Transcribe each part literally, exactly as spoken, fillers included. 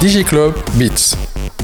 DigiClub Beats.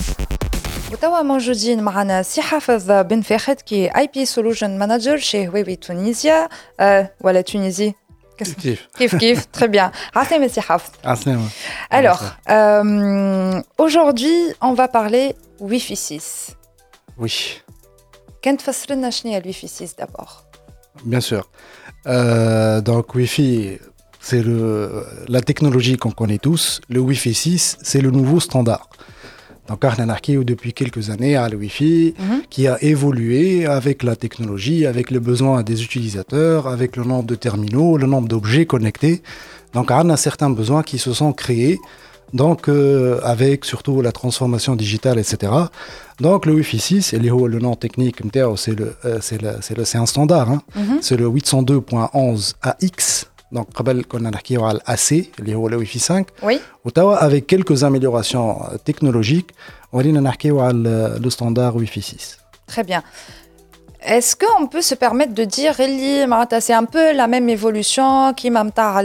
وتوا موجودين معنا سي حافظ بن فاخد كي اي بي سولوشن مانجر chez هواوي تونيزيا أه ولا تونيزي كيف كيف كيف très bien. عسلامة سي حافظ. عسلامة. Alors euh, aujourd'hui on va parler Wi-Fi six. Oui. كان تفسر لنا شنو هي الويفي six d'abord. Bien sûr. Euh, donc Wi-Fi, c'est le, la technologie qu'on connaît tous. Le Wi-Fi six, c'est le nouveau standard. Donc, on a depuis quelques années à le Wi-Fi mm-hmm. qui a évolué avec la technologie, avec les besoins des utilisateurs, avec le nombre de terminaux, le nombre d'objets connectés. Donc, on a certains besoins qui se sont créés, donc euh, avec surtout la transformation digitale, et cetera. Donc, le Wi-Fi six, et le nom technique, c'est, le, c'est, le, c'est, le, c'est un standard, hein. mm-hmm. c'est le huit cent deux point onze A X. Donc, on a dit A C, le Wi-Fi cinq. Oui. Avec quelques améliorations technologiques, on a dit le standard Wi-Fi six. Très bien. Est-ce qu'on peut se permettre de dire que c'est un peu la même évolution qui m'a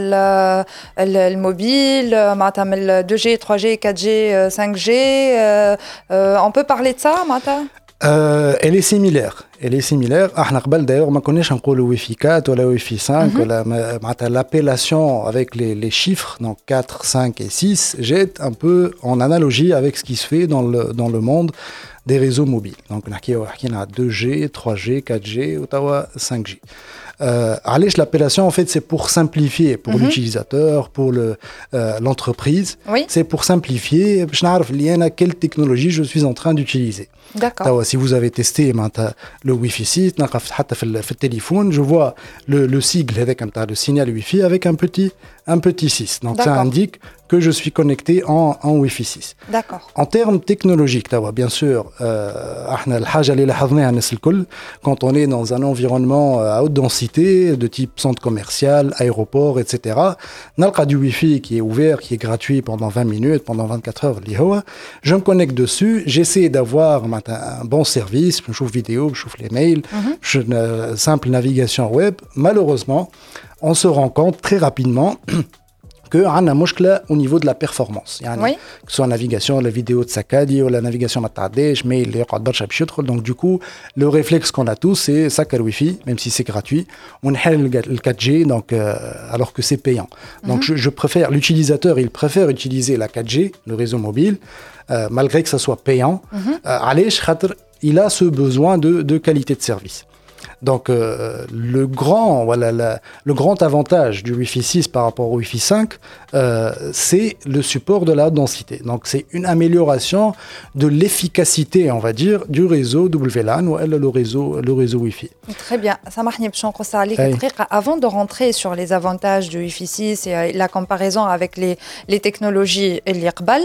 le mobile, le deux G, trois G, quatre G, cinq G. Euh, euh, on peut parler de ça, Mata? Euh, elle est similaire. Elle est similaire. Ah, d'ailleurs, on connaît le Wi-Fi quatre ou le Wi-Fi cinq. Mm-hmm. La, l'appellation avec les, les chiffres, donc quatre, cinq et six, jette un peu en analogie avec ce qui se fait dans le, dans le monde des réseaux mobiles. Donc, on a deux G, trois G, quatre G ou cinq G. Euh, l'appellation, en fait, c'est pour simplifier pour mm-hmm. l'utilisateur, pour le, euh, l'entreprise. Oui. C'est pour simplifier. Je sais quelle technologie je suis en train d'utiliser. D'accord. Si vous avez testé le Wi-Fi six, sur le téléphone, je vois le, le sigle avec le signal Wi-Fi avec un petit, un petit six. Donc, D'accord. ça indique que je suis connecté en, en Wi-Fi six. D'accord. En termes technologiques, bien sûr, euh, quand on est dans un environnement à haute densité, de type centre commercial, aéroport, et cetera, on a du Wi-Fi qui est ouvert, qui est gratuit pendant vingt minutes, pendant vingt-quatre heures. Je me connecte dessus, j'essaie d'avoir un bon service, je trouve vidéo, je trouve les mails, mm-hmm. je, une simple navigation web. Malheureusement, on se rend compte très rapidement qu'on a un problème au niveau de la performance. Yani, oui. Que ce soit la navigation, la vidéo de Sakadi ou la navigation Matadej, mail, donc du coup, le réflexe qu'on a tous, c'est Sakar Wi-Fi, même si c'est gratuit. On a le quatre G, donc, euh, alors que c'est payant. Donc mm-hmm. je, je préfère, l'utilisateur, il préfère utiliser la quatre G, le réseau mobile, euh, malgré que ça soit payant. Mm-hmm. Euh, il a ce besoin de, de qualité de service. Donc, euh, le, grand, voilà, la, le grand avantage du Wi-Fi six par rapport au Wi-Fi cinq, euh, c'est le support de la densité. Donc, c'est une amélioration de l'efficacité, on va dire, du réseau W LAN ou le réseau, le réseau Wi-Fi. Très bien. Avant de rentrer sur les avantages du Wi-Fi six et la comparaison avec les, les technologies et l'Iqbal,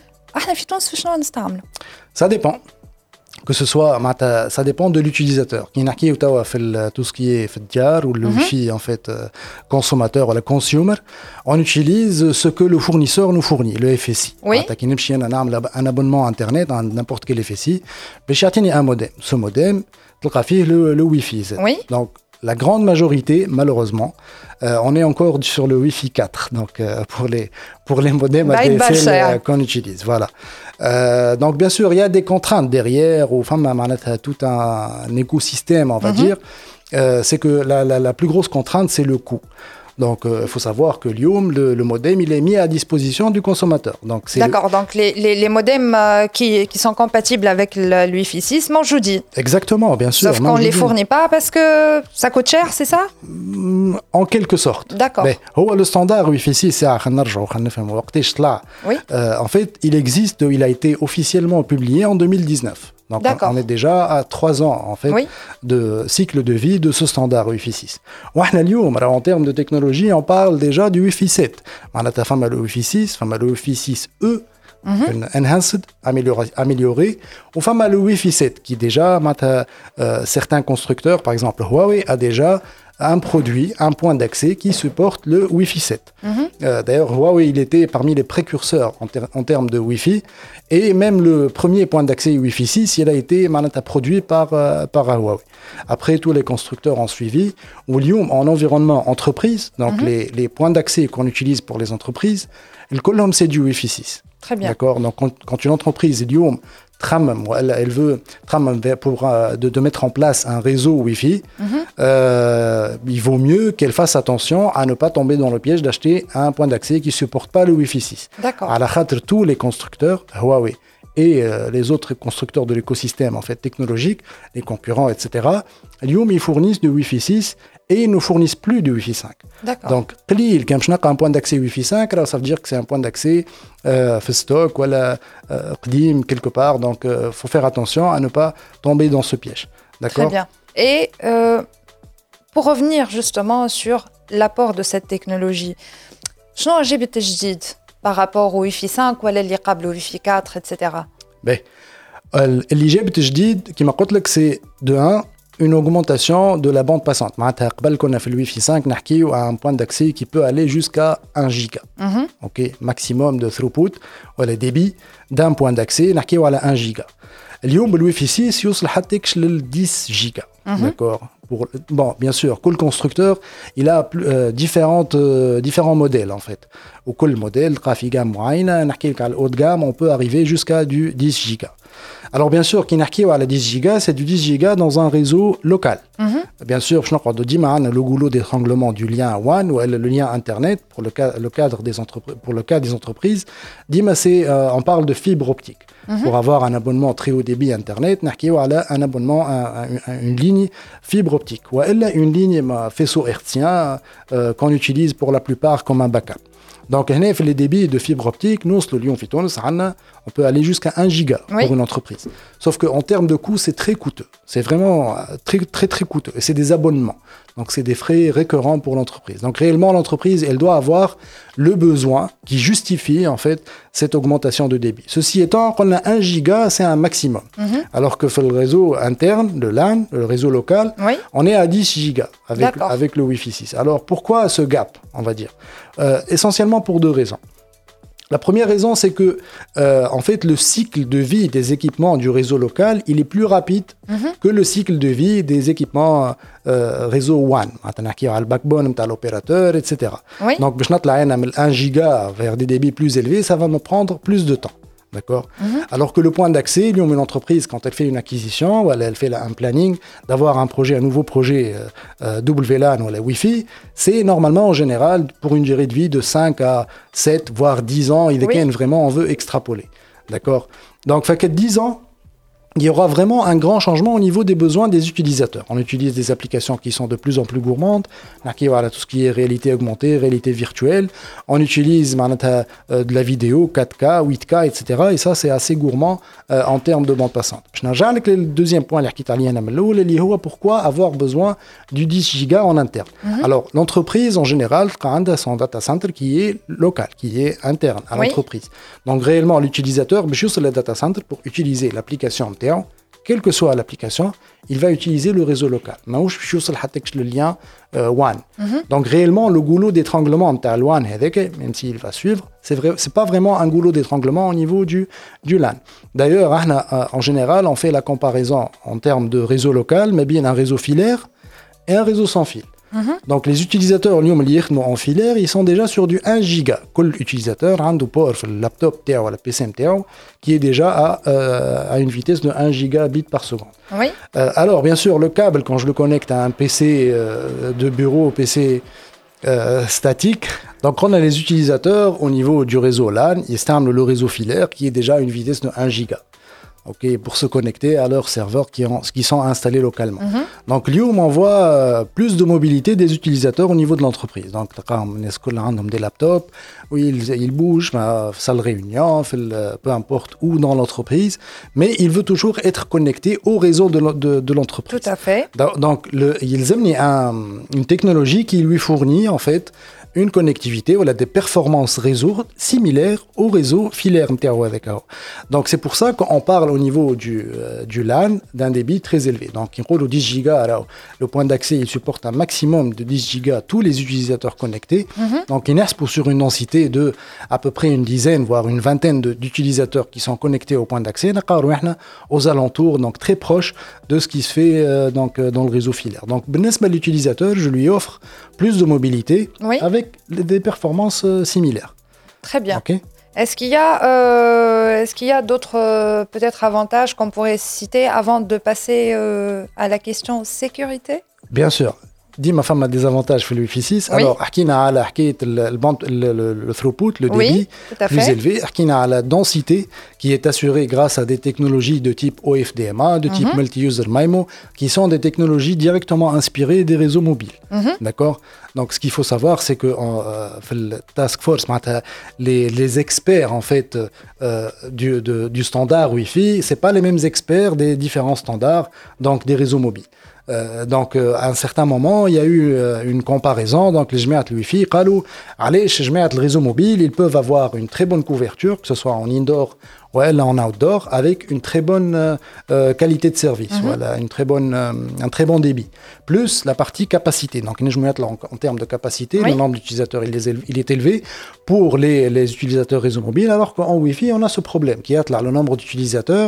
ça dépend. Que ce soit, ça dépend de l'utilisateur. Tout ce qui est diar ou le Wi-Fi en fait consommateur ou le consumer, on utilise ce que le fournisseur nous fournit, le F S I. Oui. Un abonnement internet à n'importe quel F S I, mais un modem. Ce modem, le, le Wi-Fi. Oui. Donc la grande majorité, malheureusement, euh, on est encore sur le Wi-Fi quatre, donc euh, pour les pour les modems A D S L euh, qu'on utilise, voilà. Euh, donc bien sûr, il y a des contraintes derrière, ou enfin, tout un, un écosystème, on va mm-hmm. dire. Euh, c'est que la, la, la plus grosse contrainte, c'est le coût. Donc, il euh, faut savoir que l'I O M, le, le modem, il est mis à disposition du consommateur. Donc, c'est D'accord, le... donc les, les, les modems euh, qui, qui sont compatibles avec le, le Wi-Fi six mangent jeudi. Exactement, bien sûr. Sauf qu'on ne les fournit pas parce que ça coûte cher, c'est ça? En quelque sorte. D'accord. Mais le standard Wi-Fi six, c'est oui. euh, en fait, il existe, il a été officiellement publié en deux mille dix-neuf. Donc on, on est déjà à trois ans en fait oui. de cycle de vie de ce standard Wi-Fi six. En termes de technologie, on parle déjà du Wi-Fi sept. On a le Wi-Fi six, le Wi-Fi six E, mm-hmm. enhanced, amélioré, amélioré. On a le Wi-Fi sept qui déjà, euh, certains constructeurs, par exemple Huawei, a déjà un produit, un point d'accès qui supporte le Wi-Fi sept. Mm-hmm. Euh, d'ailleurs, Huawei, il était parmi les précurseurs en, ter- en termes de Wi-Fi. Et même le premier point d'accès Wi-Fi six, il a été produit par, euh, par Huawei. Après, tous les constructeurs ont suivi. Oulium, en environnement entreprise, donc mm-hmm. les, les points d'accès qu'on utilise pour les entreprises, le colonne, c'est du Wi-Fi six. Très bien. D'accord. Donc, quand, quand une entreprise, Lyoum, tramam, elle, elle veut tramam, pour, euh, de, de mettre en place un réseau Wi-Fi, mm-hmm. euh, il vaut mieux qu'elle fasse attention à ne pas tomber dans le piège d'acheter un point d'accès qui ne supporte pas le Wi-Fi six. D'accord. À la khatre, tous les constructeurs, Huawei et euh, les autres constructeurs de l'écosystème en fait, technologique, les concurrents, et cetera, Lyoum, ils fournissent du Wi-Fi six et ils ne fournissent plus du Wi-Fi cinq. D'accord. Donc, قليل كان باش نلقى un point d'accès Wi-Fi cinq, alors ça veut dire que c'est un point d'accès euh, في stock ولا euh, قديم quelque part. Donc, il euh, faut faire attention à ne pas tomber dans ce piège. D'accord. Très bien. Et euh, pour revenir justement sur l'apport de cette technologie, شنو جاب التجديد par rapport au Wi-Fi cinq ولا اللي قبل Wi-Fi quatre, et cetera. Ben, اللي جاب التجديد كما قلت لك c'est de un une augmentation de la bande passante. معناتها قبل كنا في الويفي cinq نحكيو à un point d'accès qui peut aller jusqu'à un giga. Mm-hmm. OK, maximum de throughput ولا débit d'un point d'accès نحكيو على un giga. اليوم بالويفي six يوصل حتى لل dix giga. Mm-hmm. D'accord. Pour, bon, bien sûr, tout constructeur, il a euh, différentes, euh, différents modèles en fait. Au tout modèle, graphique gamme moyenne, à haut de gamme, on peut arriver jusqu'à du dix giga. Alors bien sûr, qui n'a à la dix giga, c'est du dix giga dans un réseau local. Mm-hmm. Bien sûr, je n'ai le goulot d'étranglement du lien WAN ou le lien Internet pour le, ca- le cadre des entreprises. Pour le cas des entreprises, Dima, c'est, euh, on parle de fibre optique. Mm-hmm. Pour avoir un abonnement très haut débit Internet, un abonnement, un, un, une ligne fibre optique. Ou une ligne faisceau hertzien euh, qu'on utilise pour la plupart comme un backup. Donc, les débits de fibre optique, nous, le Lyon Phyton, on peut aller jusqu'à un giga oui. pour une entreprise. Sauf qu'en termes de coût, c'est très coûteux. C'est vraiment très, très, très coûteux. Et c'est des abonnements. Donc, c'est des frais récurrents pour l'entreprise. Donc, réellement, l'entreprise, elle doit avoir le besoin qui justifie, en fait, cette augmentation de débit. Ceci étant, quand on a un giga, c'est un maximum. Mm-hmm. Alors que le réseau interne, le LAN, le réseau local, oui. on est à dix gigas avec, avec le Wi-Fi six. Alors, pourquoi ce gap, on va dire euh, essentiellement pour deux raisons. La première raison, c'est que, euh, en fait, le cycle de vie des équipements du réseau local, il est plus rapide mm-hmm. que le cycle de vie des équipements euh, réseau WAN. On a le backbone de l'opérateur, et cetera. Oui. Donc, je note la un giga vers des débits plus élevés, ça va me prendre plus de temps. D'accord. Mm-hmm. Alors que le point d'accès, lui, une entreprise, quand elle fait une acquisition, ou elle, elle fait un planning, d'avoir un projet, un nouveau projet euh, euh, W LAN ou la Wi-Fi, c'est normalement en général pour une durée de vie de cinq à sept, voire dix ans. Il est oui. vraiment, on veut extrapoler. D'accord. Donc, fait que dix ans, il y aura vraiment un grand changement au niveau des besoins des utilisateurs. On utilise des applications qui sont de plus en plus gourmandes, tout ce qui est réalité augmentée, réalité virtuelle. On utilise de la vidéo quatre K, huit K, et cetera. Et ça, c'est assez gourmand euh, en termes de bande passante. Le deuxième point, pourquoi avoir besoin du dix giga en interne. Mm-hmm. Alors, l'entreprise, en général, a son data center qui est local, qui est interne à oui. l'entreprise. Donc, réellement, l'utilisateur, juste le data center pour utiliser l'application quelle que soit l'application, il va utiliser le réseau local. Le lien euh, WAN. Mm-hmm. Donc réellement, le goulot d'étranglement de la WAN, même s'il va suivre, c'est vrai, c'est pas vraiment un goulot d'étranglement au niveau du, du LAN. D'ailleurs, en général, on fait la comparaison en termes de réseau local, mais bien un réseau filaire et un réseau sans fil. Mm-hmm. Donc les utilisateurs en filaire, ils sont déjà sur du un giga. Quel utilisateur a un port sur le laptop ou le P C qui est déjà à, euh, à une vitesse de un gigabit par seconde. Oui. Euh, alors bien sûr, le câble, quand je le connecte à un P C euh, de bureau, P C euh, statique, donc on a les utilisateurs au niveau du réseau LAN, ils installent le réseau filaire qui est déjà à une vitesse de un giga. Okay, pour se connecter à leurs serveurs qui, ont, qui sont installés localement. Mm-hmm. Donc, Lyoum envoie euh, plus de mobilité des utilisateurs au niveau de l'entreprise. Donc, on a des laptops où ils, ils bougent, bah, salle réunion, peu importe où dans l'entreprise, mais il veut toujours être connecté au réseau de, de, de l'entreprise. Tout à fait. Donc, le, ils amènent un, une technologie qui lui fournit, en fait, une connectivité ou des performances réseau similaires au réseau filaire. Donc c'est pour ça qu'on parle au niveau du, euh, du LAN d'un débit très élevé. Donc il roule au dix giga, alors, le point d'accès il supporte un maximum de dix giga tous les utilisateurs connectés. Mm-hmm. Donc il est pour sur une densité de à peu près une dizaine voire une vingtaine de, d'utilisateurs qui sont connectés au point d'accès aux alentours, donc très proche de ce qui se fait euh, donc, dans le réseau filaire. Donc l'utilisateur, je lui offre plus de mobilité oui. avec des performances euh, similaires. Très bien. Okay. Est-ce qu'il y a, euh, est-ce qu'il y a d'autres euh, peut-être avantages qu'on pourrait citer avant de passer euh, à la question sécurité? Bien sûr. ديما فما des avantages في الوي في six. Oui. Alors حكينا على حكايه الباند le throughput, le débit Oui, tout à plus fait. élevé. حكينا على la densité qui est assurée grâce à des technologies de type O F D M A, de type Mhm. multi-user M I M O, qui sont des technologies directement inspirées des réseaux mobiles. Mhm. D'accord. Donc ce qu'il faut savoir, c'est que en, euh, في le task force, معناتها les les experts en fait euh, du de, du standard Wi-Fi, c'est pas les mêmes experts des différents standards, donc des réseaux mobiles. Euh, donc euh, à un certain moment il y a eu euh, une comparaison. Donc les جماعة le Wi-Fi قالوا علاش جماعة le réseau mobile ils peuvent avoir une très bonne couverture, que ce soit en indoor ou en outdoor, avec une très bonne euh, euh, qualité de service. Mm-hmm. Voilà, une très bonne, euh, un très bon débit, plus la partie capacité. Donc en, en termes de capacité, oui. Le nombre d'utilisateurs il, est, il est élevé pour les, les utilisateurs réseau mobile, alors qu'en Wi-Fi on a ce problème qui est là, le nombre d'utilisateurs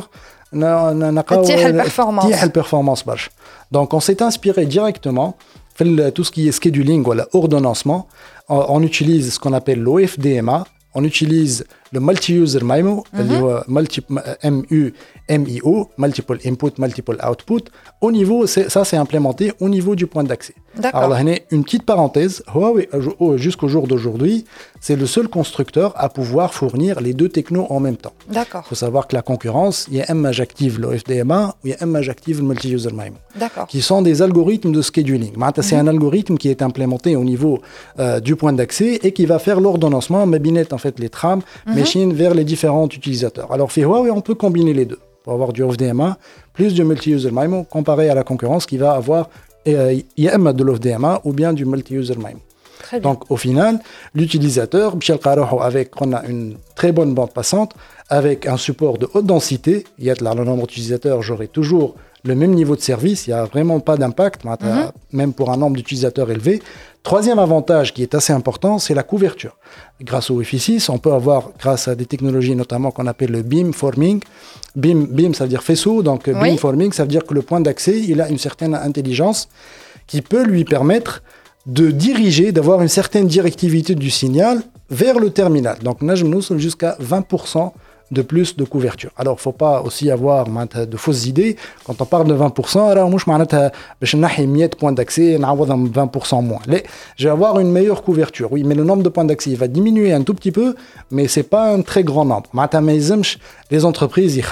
تيح البرفورمانس تيح البرفورمانس برشا. Donc on s'est inspiré directement في tout ce qui est scheduling ou ordonnancement. On, on utilise ce qu'on appelle l'O F D M A, on utilise le multi-user M I M O, mm-hmm. multi, M U M I O, multiple input, multiple output. Au niveau, c'est, ça c'est implémenté au niveau du point d'accès. D'accord. Alors là, une petite parenthèse, Huawei, jusqu'au jour d'aujourd'hui, c'est le seul constructeur à pouvoir fournir les deux technos en même temps. D'accord. Il faut savoir que la concurrence, il y a M A j'active l'O F D M A ou il y a M A j'active le multi-user M I M O. D'accord. Qui sont des algorithmes de scheduling. Mm-hmm. C'est un algorithme qui est implémenté au niveau euh, du point d'accès et qui va faire l'ordonnancement, mabinette en fait les trams, mm-hmm. machines vers les différents utilisateurs. Alors, chez Huawei, on peut combiner les deux pour avoir du O F D M A plus du multi-user M I M O comparé à la concurrence qui va avoir euh, I A M de l'O F D M A ou bien du multi-user M I M O. Très bien. Donc, au final, l'utilisateur, avec on a une très bonne bande passante, avec un support de haute densité, il y a là, le nombre d'utilisateurs, j'aurai toujours le même niveau de service, il n'y a vraiment pas d'impact, mm-hmm. même pour un nombre d'utilisateurs élevé. Troisième avantage qui est assez important, c'est la couverture. Grâce au Wi-Fi six, on peut avoir, grâce à des technologies notamment qu'on appelle le beamforming, beam, beam ça veut dire faisceau, donc oui. Beamforming, ça veut dire que le point d'accès, il a une certaine intelligence qui peut lui permettre de diriger, d'avoir une certaine directivité du signal vers le terminal. Donc, nous sommes jusqu'à vingt pour cent de plus de couverture. Alors, il ne faut pas aussi avoir de fausses idées. Quand on parle de vingt pour cent, alors, je vais cent points d'accès, vingt pour cent moins. Je vais avoir une meilleure couverture. Oui, mais le nombre de points d'accès il va diminuer un tout petit peu, mais ce n'est pas un très grand nombre. Les entreprises, ils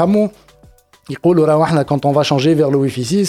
quand on va changer vers le Wi-Fi six,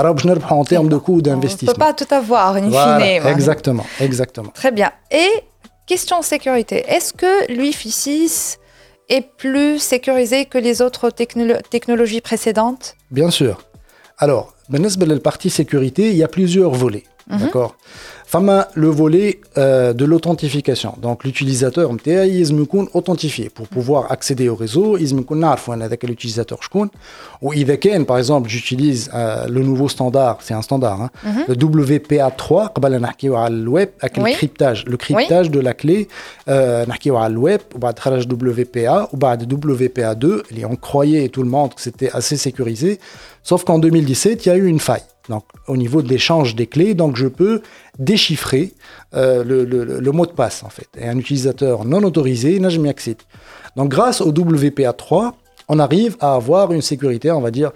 en termes de coût d'investissement. On ne peut pas tout avoir, in voilà, fine. Exactement, exactement. Très bien. Et question sécurité, est-ce que le Wi-Fi six est plus sécurisé que les autres technolo- technologies précédentes? Bien sûr. Alors, dans la partie sécurité, il y a plusieurs volets. Mm-hmm. D'accord. Fama le volet euh, de l'authentification. Donc l'utilisateur M T A il est authentifié pour pouvoir accéder au réseau. Il est l'utilisateur شكون. Ou إذا كان par exemple j'utilise euh, le nouveau standard, c'est un standard, hein, mm-hmm. le W P A trois. قبل نحكيو على الويب avec oui. le cryptage, le cryptage oui. de la clé. نحكيو على الويب وبعد خرج W P A وبعد W P A deux. On croyait tout le monde que c'était assez sécurisé. Sauf qu'en deux mille dix-sept, il y a eu une faille. Donc, au niveau de l'échange des clés, donc je peux déchiffrer euh, le, le, le mot de passe, en fait. Et un utilisateur non autorisé n'a jamais accédé. Donc, grâce au W P A trois, on arrive à avoir une sécurité, on va dire,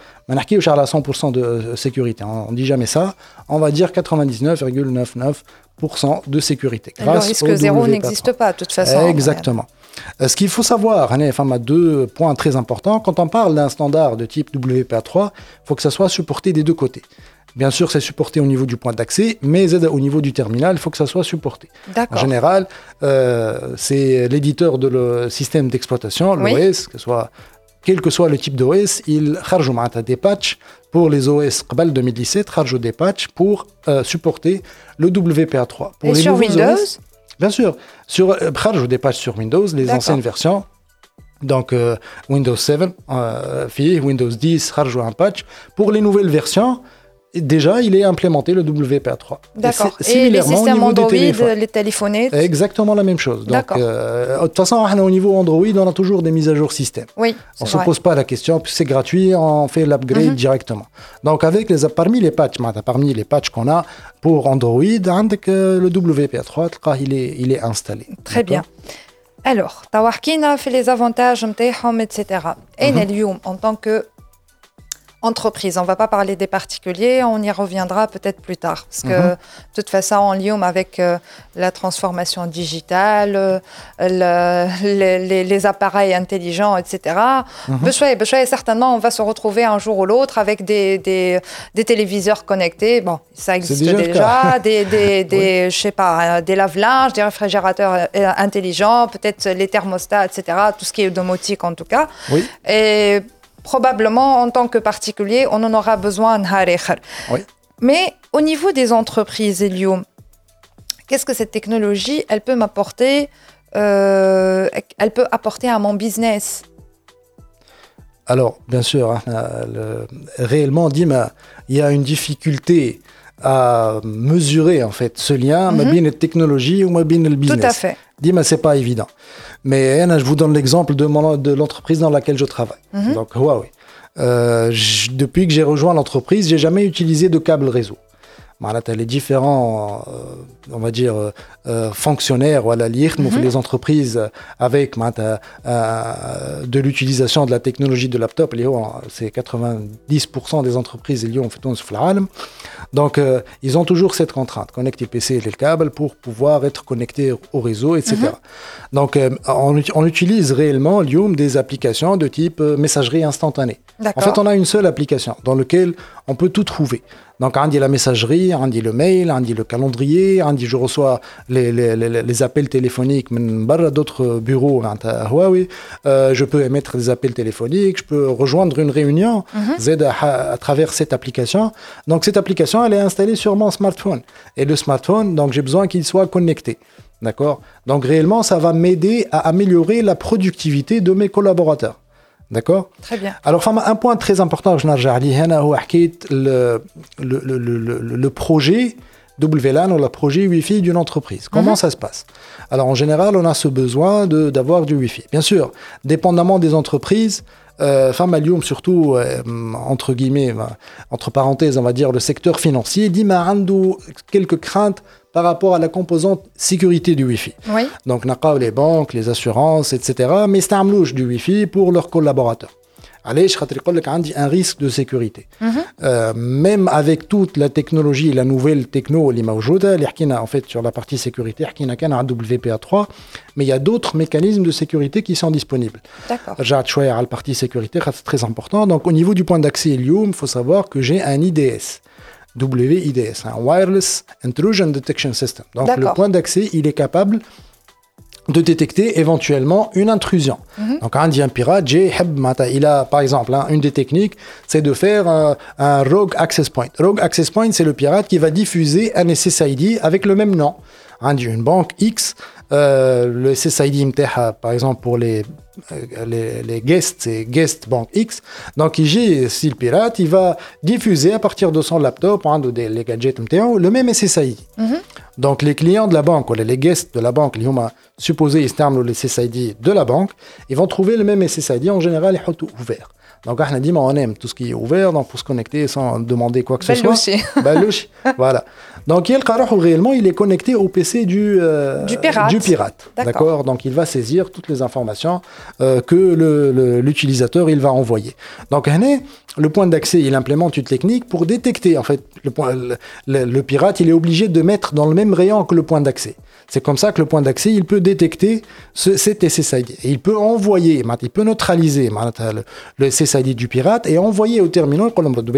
à cent pour cent de sécurité. On ne dit jamais ça. On va dire quatre-vingt-dix-neuf virgule quatre-vingt-dix-neuf pour cent de sécurité. Grâce le risque zéro n'existe pas, de toute façon. Exactement. Ouais. Ce qu'il faut savoir, il y a deux points très importants. Quand on parle d'un standard de type W P A trois, il faut que ça soit supporté des deux côtés. Bien sûr, c'est supporté au niveau du point d'accès, mais au niveau du terminal, il faut que ça soit supporté. D'accord. En général, euh, c'est l'éditeur de le système d'exploitation, l'O S, oui. que soit, quel que soit le type d'O S, il charge des patchs pour les O S قبل deux mille dix-sept, charge des patchs pour euh, supporter le W P A trois. Pour Et les sur Windows O S, bien sûr, sur charge des patchs sur Windows, les D'accord. anciennes versions. Donc euh, Windows sept, euh, Windows dix, charge un patch. Pour les nouvelles versions, Et déjà, il est implémenté le W P A trois. D'accord. Et, et les systèmes Android, les téléphonettes. Exactement la même chose. Donc, euh, de toute façon, au niveau Android, on a toujours des mises à jour système. Oui. On ne se pose pas la question, puis c'est gratuit, on fait l'upgrade mm-hmm. directement. Donc, avec les, parmi les patchs, parmi les patchs qu'on a pour Android, le W P A trois, il est, il est installé. Très bien. Alors, توا حكينا في les avantages نتاعهم et cetera. أنا اليوم en tant que entreprise, on ne va pas parler des particuliers, on y reviendra peut-être plus tard. Parce que, mm-hmm. de toute façon, en Lyon, avec euh, la transformation digitale, euh, le, les, les, les appareils intelligents, et cetera, mm-hmm. Bechoué, certainement, on va se retrouver un jour ou l'autre avec des, des, des téléviseurs connectés. Bon, ça existe déjà, déjà des, des, des, oui. je sais pas, des lave-linges, des réfrigérateurs intelligents, peut-être les thermostats, et cetera, tout ce qui est domotique en tout cas. Oui. Et probablement, en tant que particulier, on en aura besoin. Oui. Mais au niveau des entreprises, Elio, qu'est-ce que cette technologie, elle peut m'apporter, euh, elle peut apporter à mon business? Alors, bien sûr, hein, le, réellement, Dima, il y a une difficulté à mesurer en fait ce lien, mm-hmm. ma bien technologie ou ma bien le business. Tout à fait. Dis-moi, c'est pas évident. Mais je vous donne l'exemple de, mon, de l'entreprise dans laquelle je travaille. Mm-hmm. Donc, Huawei. Euh, depuis que j'ai rejoint l'entreprise, j'ai jamais utilisé de câble réseau. Les différents, euh, on va dire, euh, fonctionnaires ou à la lire, mm-hmm. les entreprises avec euh, de l'utilisation de la technologie de laptop, c'est quatre-vingt-dix pour cent des entreprises qui ont fait tout sur le Donc, euh, ils ont toujours cette contrainte, connecter le P C et le câble pour pouvoir être connectés au réseau, et cetera. Mm-hmm. Donc, euh, on, on utilise réellement des applications de type euh, messagerie instantanée. En fait, on a une seule application dans laquelle on peut tout trouver. Donc, on dit la messagerie, on dit le mail, on dit le calendrier, on dit je reçois les, les, les, les appels téléphoniques d'autres bureaux à Huawei. Euh, je peux émettre des appels téléphoniques, je peux rejoindre une réunion mm-hmm. à, à travers cette application. Donc, cette application, elle est installée sur mon smartphone. Et le smartphone, donc j'ai besoin qu'il soit connecté. D'accord ? Donc, réellement, ça va m'aider à améliorer la productivité de mes collaborateurs. D'accord ? Très bien. Alors, un point très important que je n'ai dit, c'est le, le, le, le, le projet W LAN ou le projet Wi-Fi d'une entreprise. Comment mm-hmm. ça se passe ? Alors, en général, on a ce besoin de, d'avoir du Wi-Fi. Bien sûr, dépendamment des entreprises, euh, Famalium, surtout, euh, entre guillemets, entre parenthèses, on va dire, le secteur financier, dit ma quelques craintes par rapport à la composante sécurité du Wi-Fi. Oui. Donc, on a les banques, les assurances, et cetera. Mais c'est un mlouche du Wi-Fi pour leurs collaborateurs. Allez, je vais un risque de sécurité. Mm-hmm. Euh, même avec toute la technologie, la nouvelle techno, en fait, sur la partie sécurité, il y a un W P A trois, mais il y a d'autres mécanismes de sécurité qui sont disponibles. D'accord. J'ai choisi la partie sécurité, c'est très important. Donc, au niveau du point d'accès Helium, il faut savoir que j'ai un I D S. W I D S, un Wireless Intrusion Detection System. Donc, D'accord. le point d'accès, il est capable de détecter éventuellement une intrusion. Mm-hmm. Donc, un dit un pirate, il a, par exemple, hein, une des techniques, c'est de faire un, un Rogue Access Point. Rogue Access Point, c'est le pirate qui va diffuser un S S I D avec le même nom. Un dit une banque X, euh, le S S I D, par exemple, pour les Les, les guests, c'est guest bank X. Donc, ici, si le pirate, il va diffuser à partir de son laptop, hein, de, de, les gadgets, le même S S I D. Mm-hmm. Donc, les clients de la banque, ou les guests de la banque, ils ont supposé ils terminent le S S I D de la banque, ils vont trouver le même S S I D, en général, ils sont tout ouvert. Donc, on a dit, on aime tout ce qui est ouvert, donc pour se connecter sans demander quoi que ce soit. Balouchi. Voilà. Donc, il réellement, il est connecté au P C du, euh, du pirate. Du pirate. D'accord. D'accord. Donc, il va saisir toutes les informations euh, que le, le, l'utilisateur il va envoyer. Donc, le point d'accès, il implémente une technique pour détecter, en fait, le, point, le, le, le pirate, il est obligé de mettre dans le même rayon que le point d'accès. C'est comme ça que le point d'accès, il peut détecter ce, cet S S I D. Et il peut envoyer, il peut neutraliser le, le S S I D du pirate et envoyer au terminal,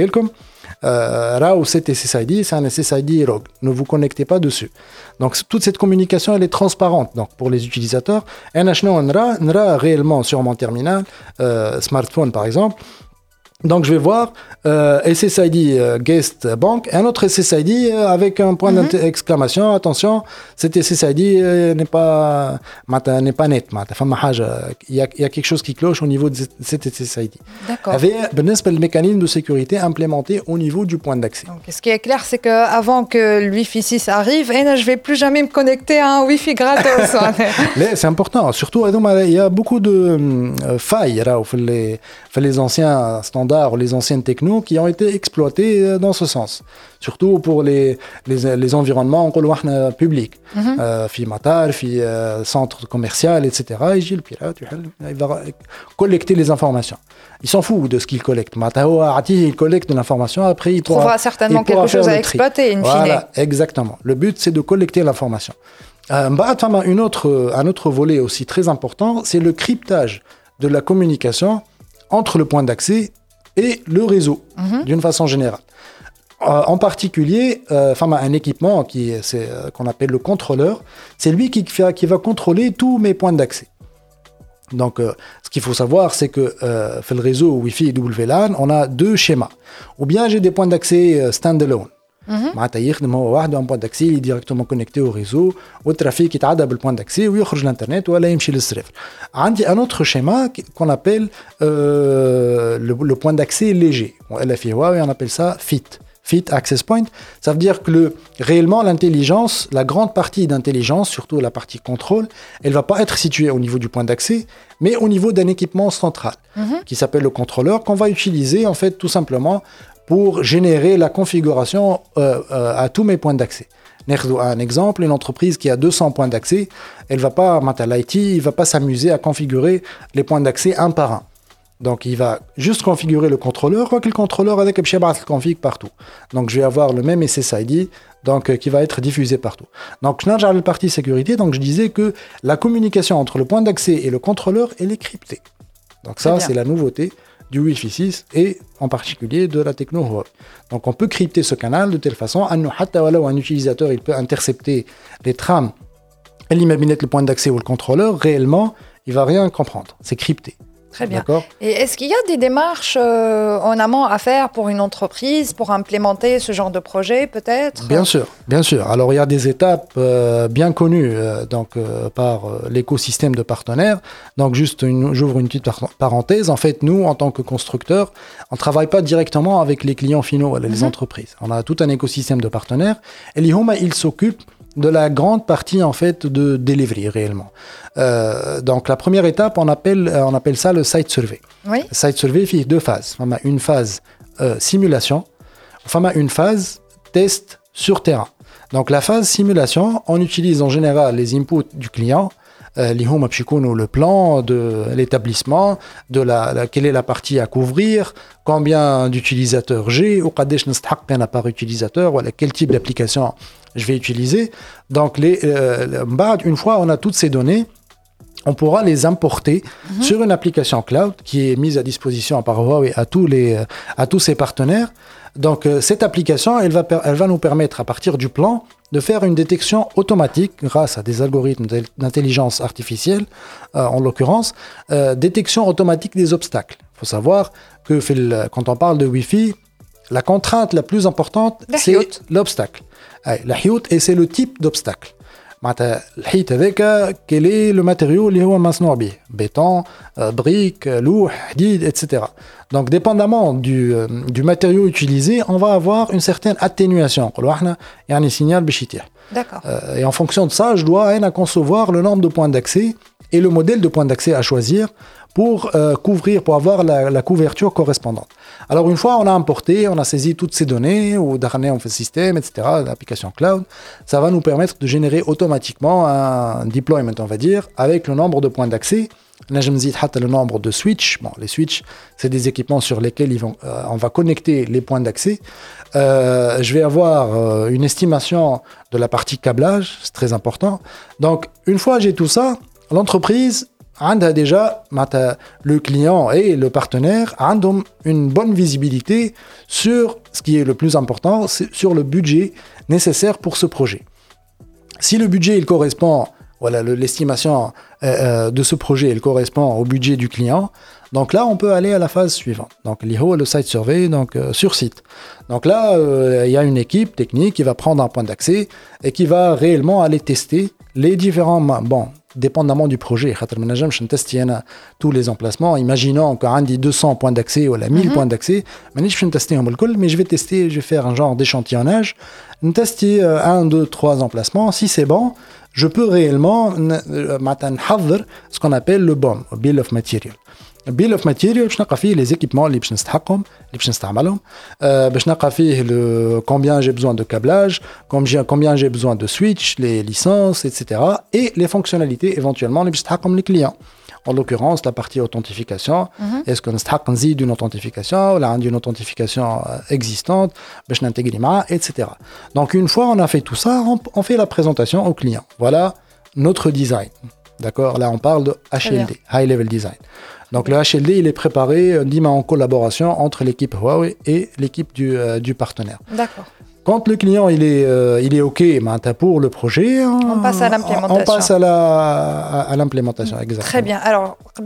euh, là où cet S S I D, c'est un S S I D rogue. Ne vous connectez pas dessus. Donc, toute cette communication, elle est transparente. Donc, pour les utilisateurs, on a réellement sur mon terminal, euh, smartphone par exemple. Donc, je vais voir euh, S S I D euh, Guest Bank, un autre S S I D euh, avec un point mm-hmm. d'exclamation. Attention, cet S S I D euh, n'est pas n'est pas net. Il y a, il y a quelque chose qui cloche au niveau de cet S S I D. D'accord. Avec le mécanisme de sécurité implémenté au niveau du point d'accès. Donc, ce qui est clair, c'est qu'avant que le Wi-Fi six arrive, je ne vais plus jamais me connecter à un Wi-Fi gratos. C'est important. Surtout, il y a beaucoup de euh, failles là, les, les anciens standards standards ou les anciennes technos qui ont été exploitées euh, dans ce sens. Surtout pour les, les, les environnements publics. Mm-hmm. في مطار, في centre commercial, et cetera. يجي البيرات il va collecter les informations. Il s'en fout de ce qu'il collecte. Il collecte de l'information, après il pourra, trouvera certainement il pourra quelque chose à exploiter, in fine. Voilà, exactement. Le but, c'est de collecter l'information. Euh, une autre, un autre volet aussi très important, c'est le cryptage de la communication entre le point d'accès et le réseau, mm-hmm. d'une façon générale. Euh, en particulier, euh, un équipement qui, c'est, euh, qu'on appelle le contrôleur, c'est lui qui, qui va contrôler tous mes points d'accès. Donc, euh, ce qu'il faut savoir, c'est que euh, dans le réseau Wi-Fi et W LAN, on a deux schémas. Ou bien j'ai des points d'accès euh, stand-alone. Mm-hmm. Un point d'accès il est directement connecté au réseau, au trafic, il a le point d'accès, ou il sort l'internet, ou il يمشي للصرف. Un autre schéma qu'on appelle euh, le, le point d'accès léger. On appelle ça F I T. F I T, Access Point, ça veut dire que le, réellement l'intelligence, la grande partie d'intelligence, surtout la partie contrôle, elle ne va pas être située au niveau du point d'accès, mais au niveau d'un équipement central, mm-hmm. qui s'appelle le contrôleur, qu'on va utiliser en fait tout simplement pour générer la configuration euh, euh, à tous mes points d'accès. Un exemple, une entreprise qui a deux cents points d'accès, elle va pas, l'I T, il ne va pas s'amuser à configurer les points d'accès un par un. Donc, il va juste configurer le contrôleur, quoi que le contrôleur avec le config partout. Donc, je vais avoir le même S S I D donc, euh, qui va être diffusé partout. Donc, je n'ai la partie sécurité. Donc, je disais que la communication entre le point d'accès et le contrôleur, elle est cryptée. Donc, ça, c'est la nouveauté du Wi-Fi six et en particulier de la techno Huawei. Donc, on peut crypter ce canal de telle façon qu'un utilisateur il peut intercepter les trames, le point d'accès ou le contrôleur. Réellement, il ne va rien comprendre. C'est crypté. Très bien. D'accord. Et est-ce qu'il y a des démarches euh, en amont à faire pour une entreprise, pour implémenter ce genre de projet, peut-être ? Bien sûr, bien sûr. Alors, il y a des étapes euh, bien connues euh, donc, euh, par euh, l'écosystème de partenaires. Donc, juste, une, j'ouvre une petite par- parenthèse. En fait, nous, en tant que constructeurs, on ne travaille pas directement avec les clients finaux, les mm-hmm. entreprises. On a tout un écosystème de partenaires. Et l'I H O M A, il s'occupe de la grande partie en fait de delivery réellement. Euh, donc la première étape, on appelle on appelle ça le site survey. Oui. Le site survey fait deux phases. On a une phase euh, simulation, on a une phase test sur terrain. Donc la phase simulation, on utilise en général les inputs du client. اللي هما باش يكونوا le plan de l'établissement, de la, la quelle est la partie à couvrir, combien d'utilisateurs j'ai ou قداش نستحق انا par utilisateur, voilà quel type d'application je vais utiliser. Donc les euh, une fois on a toutes ces données, on pourra les importer mm-hmm. sur une application cloud qui est mise à disposition par Huawei à tous les à tous ses partenaires. Donc euh, cette application, elle va elle va nous permettre à partir du plan de faire une détection automatique grâce à des algorithmes d'intelligence artificielle, euh, en l'occurrence, euh, détection automatique des obstacles. Il faut savoir que quand on parle de Wi-Fi, la contrainte la plus importante, la c'est hiout. l'obstacle. La hiout, et c'est le type d'obstacle. الحيط هذاك quel est le matériau اللي هو مصنوع به béton, briques, لوح, حديد, et cetera. Donc dépendamment du, du matériau utilisé, on va avoir une certaine atténuation. Il y a un signal باش يطيح. D'accord. Euh, et en fonction de ça, je dois hein, concevoir le nombre de points d'accès et le modèle de points d'accès à choisir pour euh, couvrir, pour avoir la, la couverture correspondante. Alors une fois on a importé, on a saisi toutes ces données, ou d'arner on fait le système, et cetera, l'application cloud, ça va nous permettre de générer automatiquement un deployment, on va dire, avec le nombre de points d'accès. Là, je me dis le nombre de switches. Bon, les switches, c'est des équipements sur lesquels ils vont, euh, on va connecter les points d'accès. Euh, je vais avoir euh, une estimation de la partie câblage, c'est très important. Donc, une fois j'ai tout ça, l'entreprise a déjà, le client et le partenaire ont une bonne visibilité sur ce qui est le plus important, c'est sur le budget nécessaire pour ce projet. Si le budget il correspond, voilà, le, l'estimation euh, de ce projet il correspond au budget du client, donc là on peut aller à la phase suivante. Donc l'I H O, le site survey, donc euh, sur site. Donc là euh, il y a une équipe technique qui va prendre un point d'accès et qui va réellement aller tester les différents bon dépendamment du projet. Je teste tous les emplacements. Imaginons qu'on a deux cents points d'accès ou mille mm-hmm. points d'accès. Mais je vais tester, je vais faire un genre d'échantillonnage. Je vais tester un, deux, trois emplacements. Si c'est bon, je peux réellement euh, ce qu'on appelle le B O M, Bill of Material. Bill of Material, باش نلقى فيه les équipements اللي باش نستحقهم اللي باش نستعملهم باش نلقى فيه le combien j'ai besoin de câblage, combien combien j'ai besoin de switch, les licences, et cetera et les fonctionnalités éventuellement اللي باش نستحقهم les clients. En l'occurrence, la partie authentification, mm-hmm. est-ce qu'on a besoin d'une authentification ou d'une authentification existante, et cetera. Donc, une fois on a fait tout ça, on, on fait la présentation au client. Voilà notre design. D'accord? Là, on parle de H L D, High Level Design. Donc, le H L D, il est préparé en collaboration entre l'équipe Huawei et l'équipe du, euh, du partenaire. D'accord. Quand le client il est, euh, il est OK pour le projet, on, on passe à l'implémentation. On passe à, la, à, à l'implémentation, exactement. Très bien. Alors,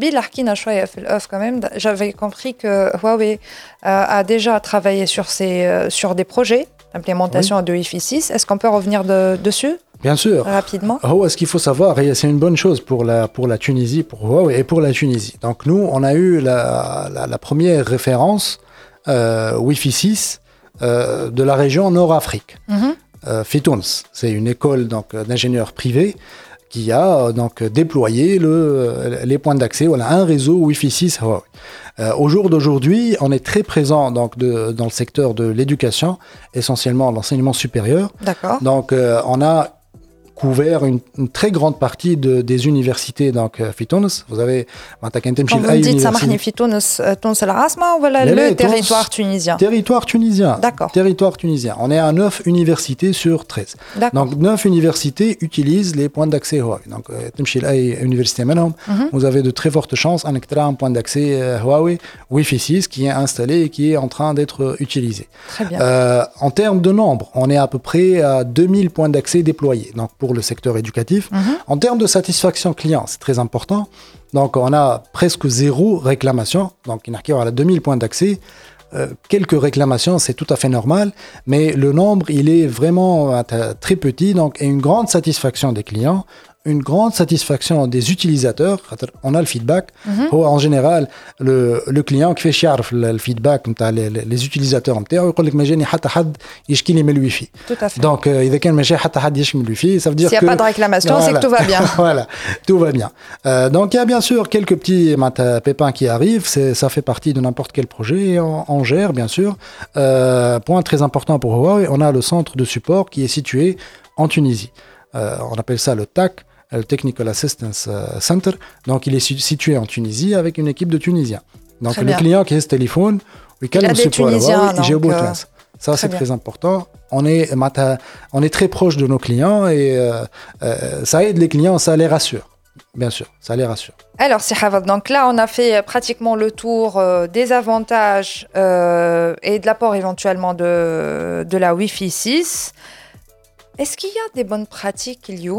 quand même, j'avais compris que Huawei euh, a déjà travaillé sur, ces, euh, sur des projets d'implémentation oui. de Wi-Fi six. Est-ce qu'on peut revenir de, dessus ? Bien sûr. Rapidement. Oh, ce qu'il faut savoir, et c'est une bonne chose pour la, pour la Tunisie, pour Huawei et pour la Tunisie. Donc, nous, on a eu la, la, la première référence euh, Wi-Fi six Euh, de la région Nord-Afrique. Mm-hmm. Euh, Fitouns, c'est une école donc, d'ingénieurs privés qui a donc, déployé le, les points d'accès, voilà, un réseau Wi-Fi six Huawei. Euh, au jour d'aujourd'hui, on est très présent donc, de, dans le secteur de l'éducation, essentiellement l'enseignement supérieur. D'accord. Donc, euh, on a couvert une, une très grande partie de, des universités donc Fitounes. Vous avez quand vous dites Samahni Fitounes, Tunis al-Asma ou le territoire tunisien? Territoire tunisien. D'accord. Territoire tunisien. On est à neuf universités sur treize. D'accord. Donc neuf universités utilisent les points d'accès Huawei. Donc Temchil Ay université منهم, mm-hmm. vous avez de très fortes chances à un point d'accès Huawei Wi-Fi six qui est installé et qui est en train d'être utilisé. Très bien. Euh, en termes de nombre, on est à peu près à deux mille points d'accès déployés. Donc pour le secteur éducatif. Mm-hmm. En termes de satisfaction client, c'est très important. Donc, on a presque zéro réclamation. Donc, il y a deux mille points d'accès. Euh, quelques réclamations, c'est tout à fait normal. Mais le nombre, il est vraiment euh, très petit. Donc, et une grande satisfaction des clients. Une grande satisfaction des utilisateurs. On a le feedback. Mm-hmm. En général, le, le client qui fait chier le feedback, les, les utilisateurs, il dit que je n'ai pas de Wi-Fi. Tout à fait. Donc, il y a de Wi-Fi, ça veut dire S'il n'y a pas de réclamation, voilà. C'est que tout va bien. Voilà, tout va bien. Euh, donc, il y a bien sûr quelques petits pépins qui arrivent. C'est, ça fait partie de n'importe quel projet. On, on gère, bien sûr. Euh, point très important pour Huawei, on a le centre de support qui est situé en Tunisie. Euh, on appelle ça le T A C. Le Technical Assistance Center. Donc, il est situé en Tunisie avec une équipe de Tunisiens. Donc, très le bien. client qui a ce téléphone, il a des Tunisiens. J'ai au bout de classe. Ça, c'est bien. Très important. On est, on est très proche de nos clients et euh, euh, ça aide les clients, ça les rassure. Bien sûr, ça les rassure. Alors, c'est Hafad. Donc là, on a fait pratiquement le tour euh, des avantages euh, et de l'apport éventuellement de, de la Wi-Fi six. Est-ce qu'il y a des bonnes pratiques, Ilio,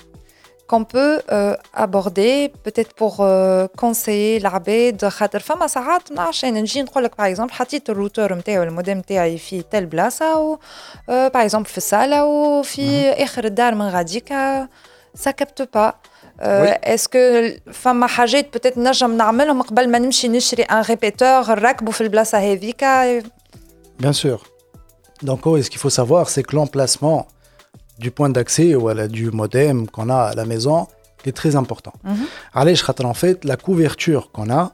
qu'on peut euh, aborder peut-être pour euh, conseiller l'abed خاطر فما ساعات ما عرفتش انا نجي نقول لك باغ اكزومبل حطيت الروتور نتاعي والموديم نتاعي في تل بلاصه و باغ اكزومبل في الصاله وفي اخر الدار من غاديكا ça capte pas. est-ce que فما حاجات peut-être نجم نعملهم قبل ما نمشي نشري ان ريبيتور نركبه في البلاصه هذيكا? Bien sûr. Donc oh, ce qu'il faut savoir c'est que l'emplacement du point d'accès ou du modem qu'on a à la maison est très important. Mm-hmm. En fait, la couverture qu'on a,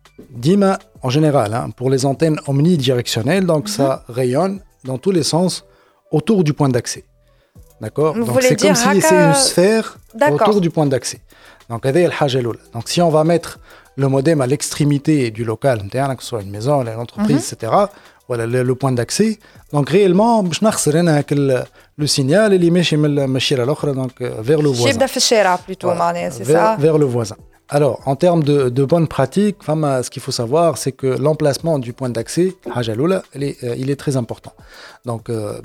dima en général, hein, pour les antennes omnidirectionnelles, donc mm-hmm. ça rayonne dans tous les sens autour du point d'accès. D'accord? Vous donc c'est comme si haka... c'est une sphère D'accord. autour du point d'accès. Donc, donc si on va mettre le modem à l'extrémité du local, que ce soit une maison, une entreprise, mm-hmm. et cetera, voilà le, le point d'accès. Donc réellement, je n'ai que le, le signal il est à l'autre, donc vers le voisin. Plutôt, voilà, c'est vers, ça. vers le voisin. Alors, en termes de, de bonnes pratiques, ce qu'il faut savoir, c'est que l'emplacement du point d'accès, il est, il est très important. Donc,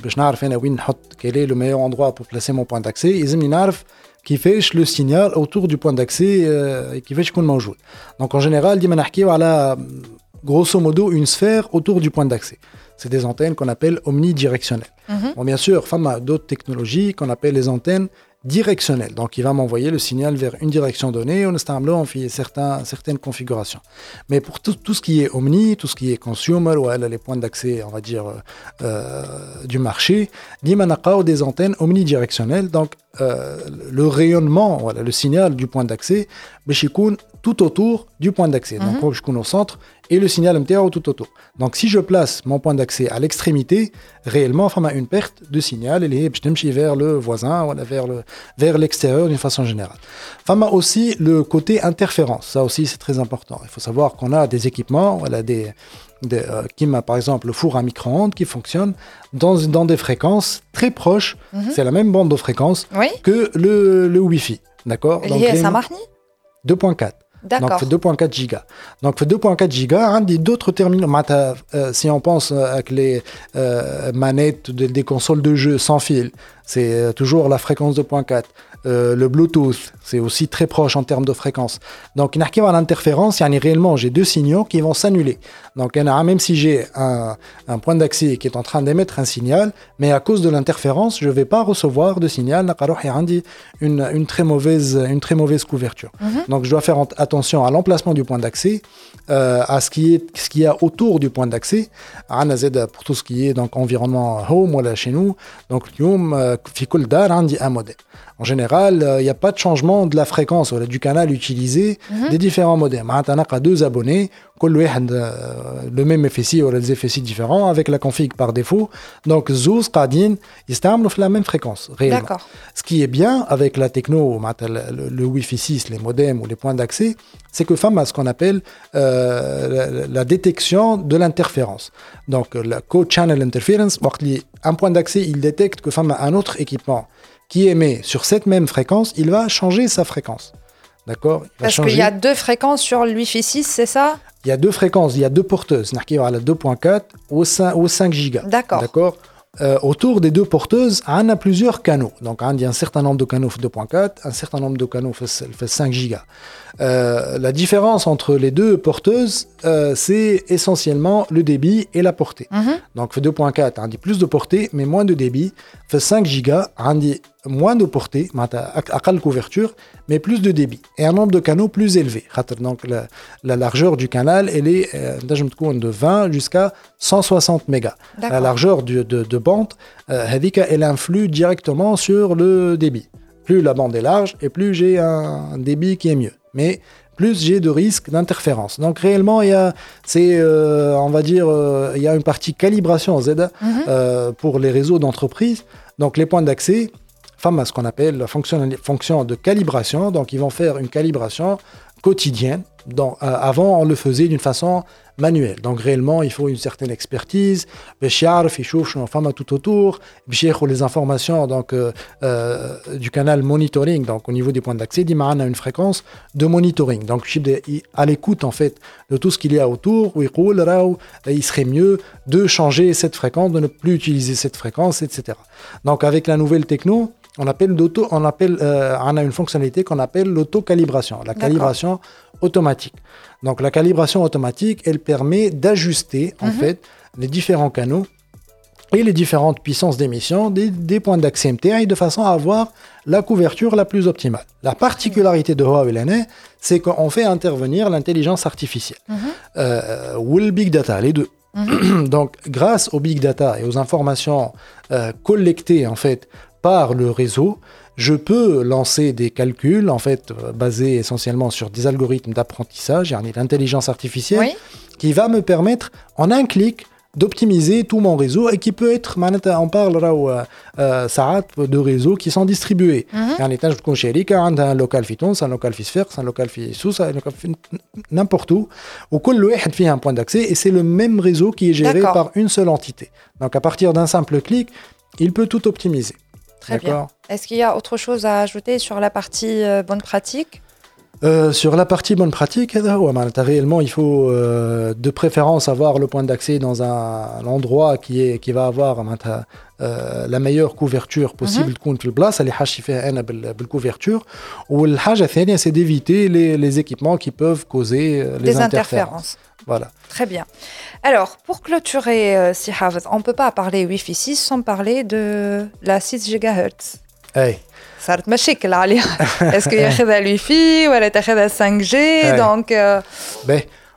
quel est le meilleur endroit pour placer mon point d'accès? qui fait le signal autour du point d'accès et qui fait qu'on mange. Donc, en général, on a grosso modo une sphère autour du point d'accès. C'est des antennes qu'on appelle omnidirectionnelles. Mm-hmm. Bon, bien sûr, il y a d'autres technologies qu'on appelle les antennes directionnelles. Donc, il va m'envoyer le signal vers une direction donnée. On a fait certains, certaines configurations. Mais pour tout, tout ce qui est omni, tout ce qui est consumer, ou les points d'accès, on va dire, euh, du marché, il y a des antennes omnidirectionnelles. Donc, euh, le rayonnement, voilà, le signal du point d'accès, باش يكون tout autour du point d'accès. Donc, mm-hmm. je suis au centre et le signal M T A tout autour. Donc, si je place mon point d'accès à l'extrémité, réellement, il y a une perte de signal et je vais vers le voisin ou vers, le, vers l'extérieur d'une façon générale. Il y a aussi le côté interférence. Ça aussi, c'est très important. Il faut savoir qu'on a des équipements, voilà, des, des, euh, qui m'a par exemple le four à micro-ondes qui fonctionne dans, dans des fréquences très proches. Mm-hmm. C'est la même bande de fréquences oui. que le, le Wi-Fi. D'accord. Donc, les... ça marche deux virgule quatre. D'accord. Donc, fait deux virgule quatre gigas. Donc, fait deux virgule quatre gigas, hein, d'autres terminaux. Euh, si on pense avec les euh, manettes de, des consoles de jeu sans fil, c'est euh, toujours la fréquence deux virgule quatre. Euh, le Bluetooth, c'est aussi très proche en termes de fréquence. Donc, il y a l'interférence, il y a réellement, j'ai deux signaux qui vont s'annuler. Donc, même si j'ai un, un point d'accès qui est en train d'émettre un signal, mais à cause de l'interférence, je ne vais pas recevoir de signal. Il y a une, une, très mauvaise, une très mauvaise couverture. Mm-hmm. Donc, je dois faire attention à l'emplacement du point d'accès, euh, à ce qui est ce qu'il y a autour du point d'accès. Pour tout ce qui est donc, environnement home, voilà, chez nous. Donc, un modèle. En général, il euh, n'y a pas de changement de la fréquence ou du canal utilisé mm-hmm. des différents modems. On a deux abonnés, le même F S I ou les F S I différents avec la config par défaut. Donc, Zouz, Qadin, ils sont la même fréquence, réellement. D'accord. Ce qui est bien avec la techno, le, le Wi-Fi six, les modems ou les points d'accès, c'est que femme a ce qu'on appelle euh, la, la détection de l'interférence. Donc, la co-channel interference, un point d'accès, il détecte que femme a un autre équipement qui émet sur cette même fréquence, il va changer sa fréquence. D'accord ? Parce qu'il y a deux fréquences sur le Wi-Fi six, c'est ça ? Il y a deux fréquences, il y a deux porteuses. Il y a la deux virgule quatre ou cinq gigas. D'accord. D'accord ? Euh, autour des deux porteuses, on a plusieurs canaux. Donc, il y a un certain nombre de canaux deux virgule quatre, un certain nombre de canaux fait cinq gigas. Euh, la différence entre les deux porteuses, euh, c'est essentiellement le débit et la portée. Mm-hmm. Donc, fait deux virgule quatre, on dit plus de portée, mais moins de débit. Fait cinq gigas, on dit moins de portée, à couverture, mais plus de débit. Et un nombre de canaux plus élevé. Donc, la, la largeur du canal, elle est euh, de vingt jusqu'à cent soixante mégas. La largeur du, de, de bande, euh, elle influe directement sur le débit. Plus la bande est large et plus j'ai un débit qui est mieux. Mais plus j'ai de risques d'interférence. Donc réellement, il y a, c'est, euh, on va dire, euh, il y a une partie calibration Z mm-hmm. euh, pour les réseaux d'entreprise. Donc les points d'accès, femme à ce qu'on appelle la fonction, fonction de calibration. Donc ils vont faire une calibration quotidienne. Donc, euh, avant, on le faisait d'une façon manuelle. Donc réellement, il faut une certaine expertise. Tout autour. Les informations donc, euh, euh, du canal monitoring. Donc au niveau des points d'accès, on a une fréquence de monitoring. Donc à l'écoute en fait de tout ce qu'il y a autour, il serait mieux de changer cette fréquence, de ne plus utiliser cette fréquence, et cetera. Donc avec la nouvelle techno, on appelle d'auto, on appelle, euh, on a une fonctionnalité qu'on appelle l'auto-calibration, la D'accord. calibration automatique. Donc la calibration automatique, elle permet d'ajuster en mm-hmm. fait les différents canaux et les différentes puissances d'émission des, des points d'accès M T I de façon à avoir la couverture la plus optimale. La particularité de Huawei, c'est qu'on fait intervenir l'intelligence artificielle mm-hmm. euh, ou le big data, les deux. Mm-hmm. Donc grâce au big data et aux informations euh, collectées en fait par le réseau, je peux lancer des calculs en fait basés essentiellement sur des algorithmes d'apprentissage, l'intelligence artificielle, oui. qui va me permettre en un clic d'optimiser tout mon réseau et qui peut être, on parle là euh, de réseaux qui sont distribués. Mm-hmm. Un local Python, un local Fisfer, un local Fissous, n'importe où, où chaque fait un point d'accès et c'est le même réseau qui est géré D'accord. par une seule entité. Donc à partir d'un simple clic, il peut tout optimiser. Très D'accord. bien. Est-ce qu'il y a autre chose à ajouter sur la partie euh, bonne pratique ? Euh, sur la partie bonne pratique, réellement, il faut euh, de préférence avoir le point d'accès dans un, un endroit qui, est, qui va avoir euh, la meilleure couverture possible تكون في البلاصة اللي حاشي فيها أنا بالcouverture. والحاجة الثانية, c'est d'éviter les, les équipements qui peuvent causer les Des interférences. interférences. Voilà. Très bien. Alors, pour clôturer, euh, si Hafez, on ne peut pas parler Wi-Fi six sans parler de la six gigahertz. Hey. صارت مشاكل عليها. Est-ce qu'il y a le Wi-Fi ou elle est à cinq G donc euh... ben,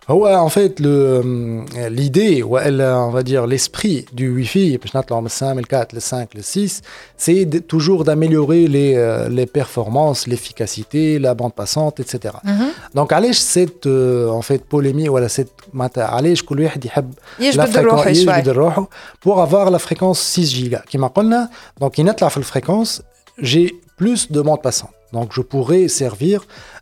Ouais, en fait, le, l'idée, ou on va dire l'esprit du Wi-Fi, le cinq, le quatre, le cinq, le six, c'est de, toujours d'améliorer les, les performances, l'efficacité, la bande passante, et cetera. Mm-hmm. Donc, allez, cette euh, en fait, polémique, voilà, cette, allez, je la fréquence, pour avoir la fréquence six giga. Qui m'a dit, donc, il y a la fréquence, j'ai plus de bande passante. Donc, je pourrais servir,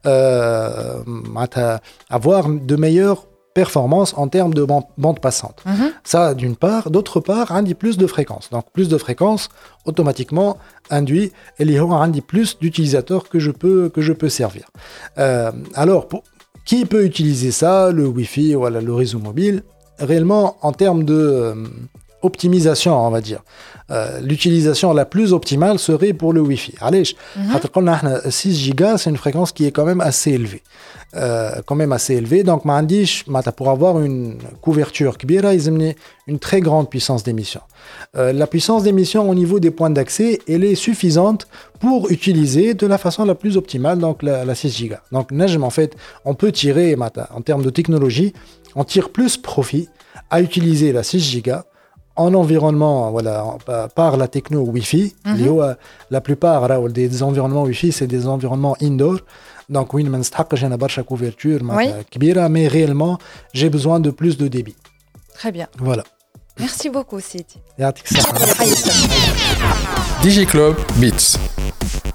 euh, avoir de meilleures performances en termes de bande, bande passante. Mm-hmm. Ça, d'une part. D'autre part, on dit plus de fréquences. Donc, plus de fréquences, automatiquement, induit, et il y aura plus d'utilisateurs que je peux, que je peux servir. Euh, alors, pour, qui peut utiliser ça, le Wi-Fi ou le réseau mobile? Réellement, en termes de... Euh, optimisation, on va dire. Euh, l'utilisation la plus optimale serait pour le Wi-Fi. Allez, mm-hmm. six gigas, c'est une fréquence qui est quand même assez élevée. Euh, quand même assez élevée. Donc, pour avoir une couverture kbira, une très grande puissance d'émission. Euh, la puissance d'émission au niveau des points d'accès, elle est suffisante pour utiliser de la façon la plus optimale donc la, la six gigas. Donc, en fait, on peut tirer, en termes de technologie, on tire plus profit à utiliser la six gigas en environnement, voilà, par la techno Wi-Fi. Mm-hmm. La plupart des environnements Wi-Fi, c'est des environnements indoor. Donc, oui, j'ai une barre couverture, oui. Mais réellement, j'ai besoin de plus de débit. Très bien. Voilà. Merci beaucoup, Sidi. D J Club Beats.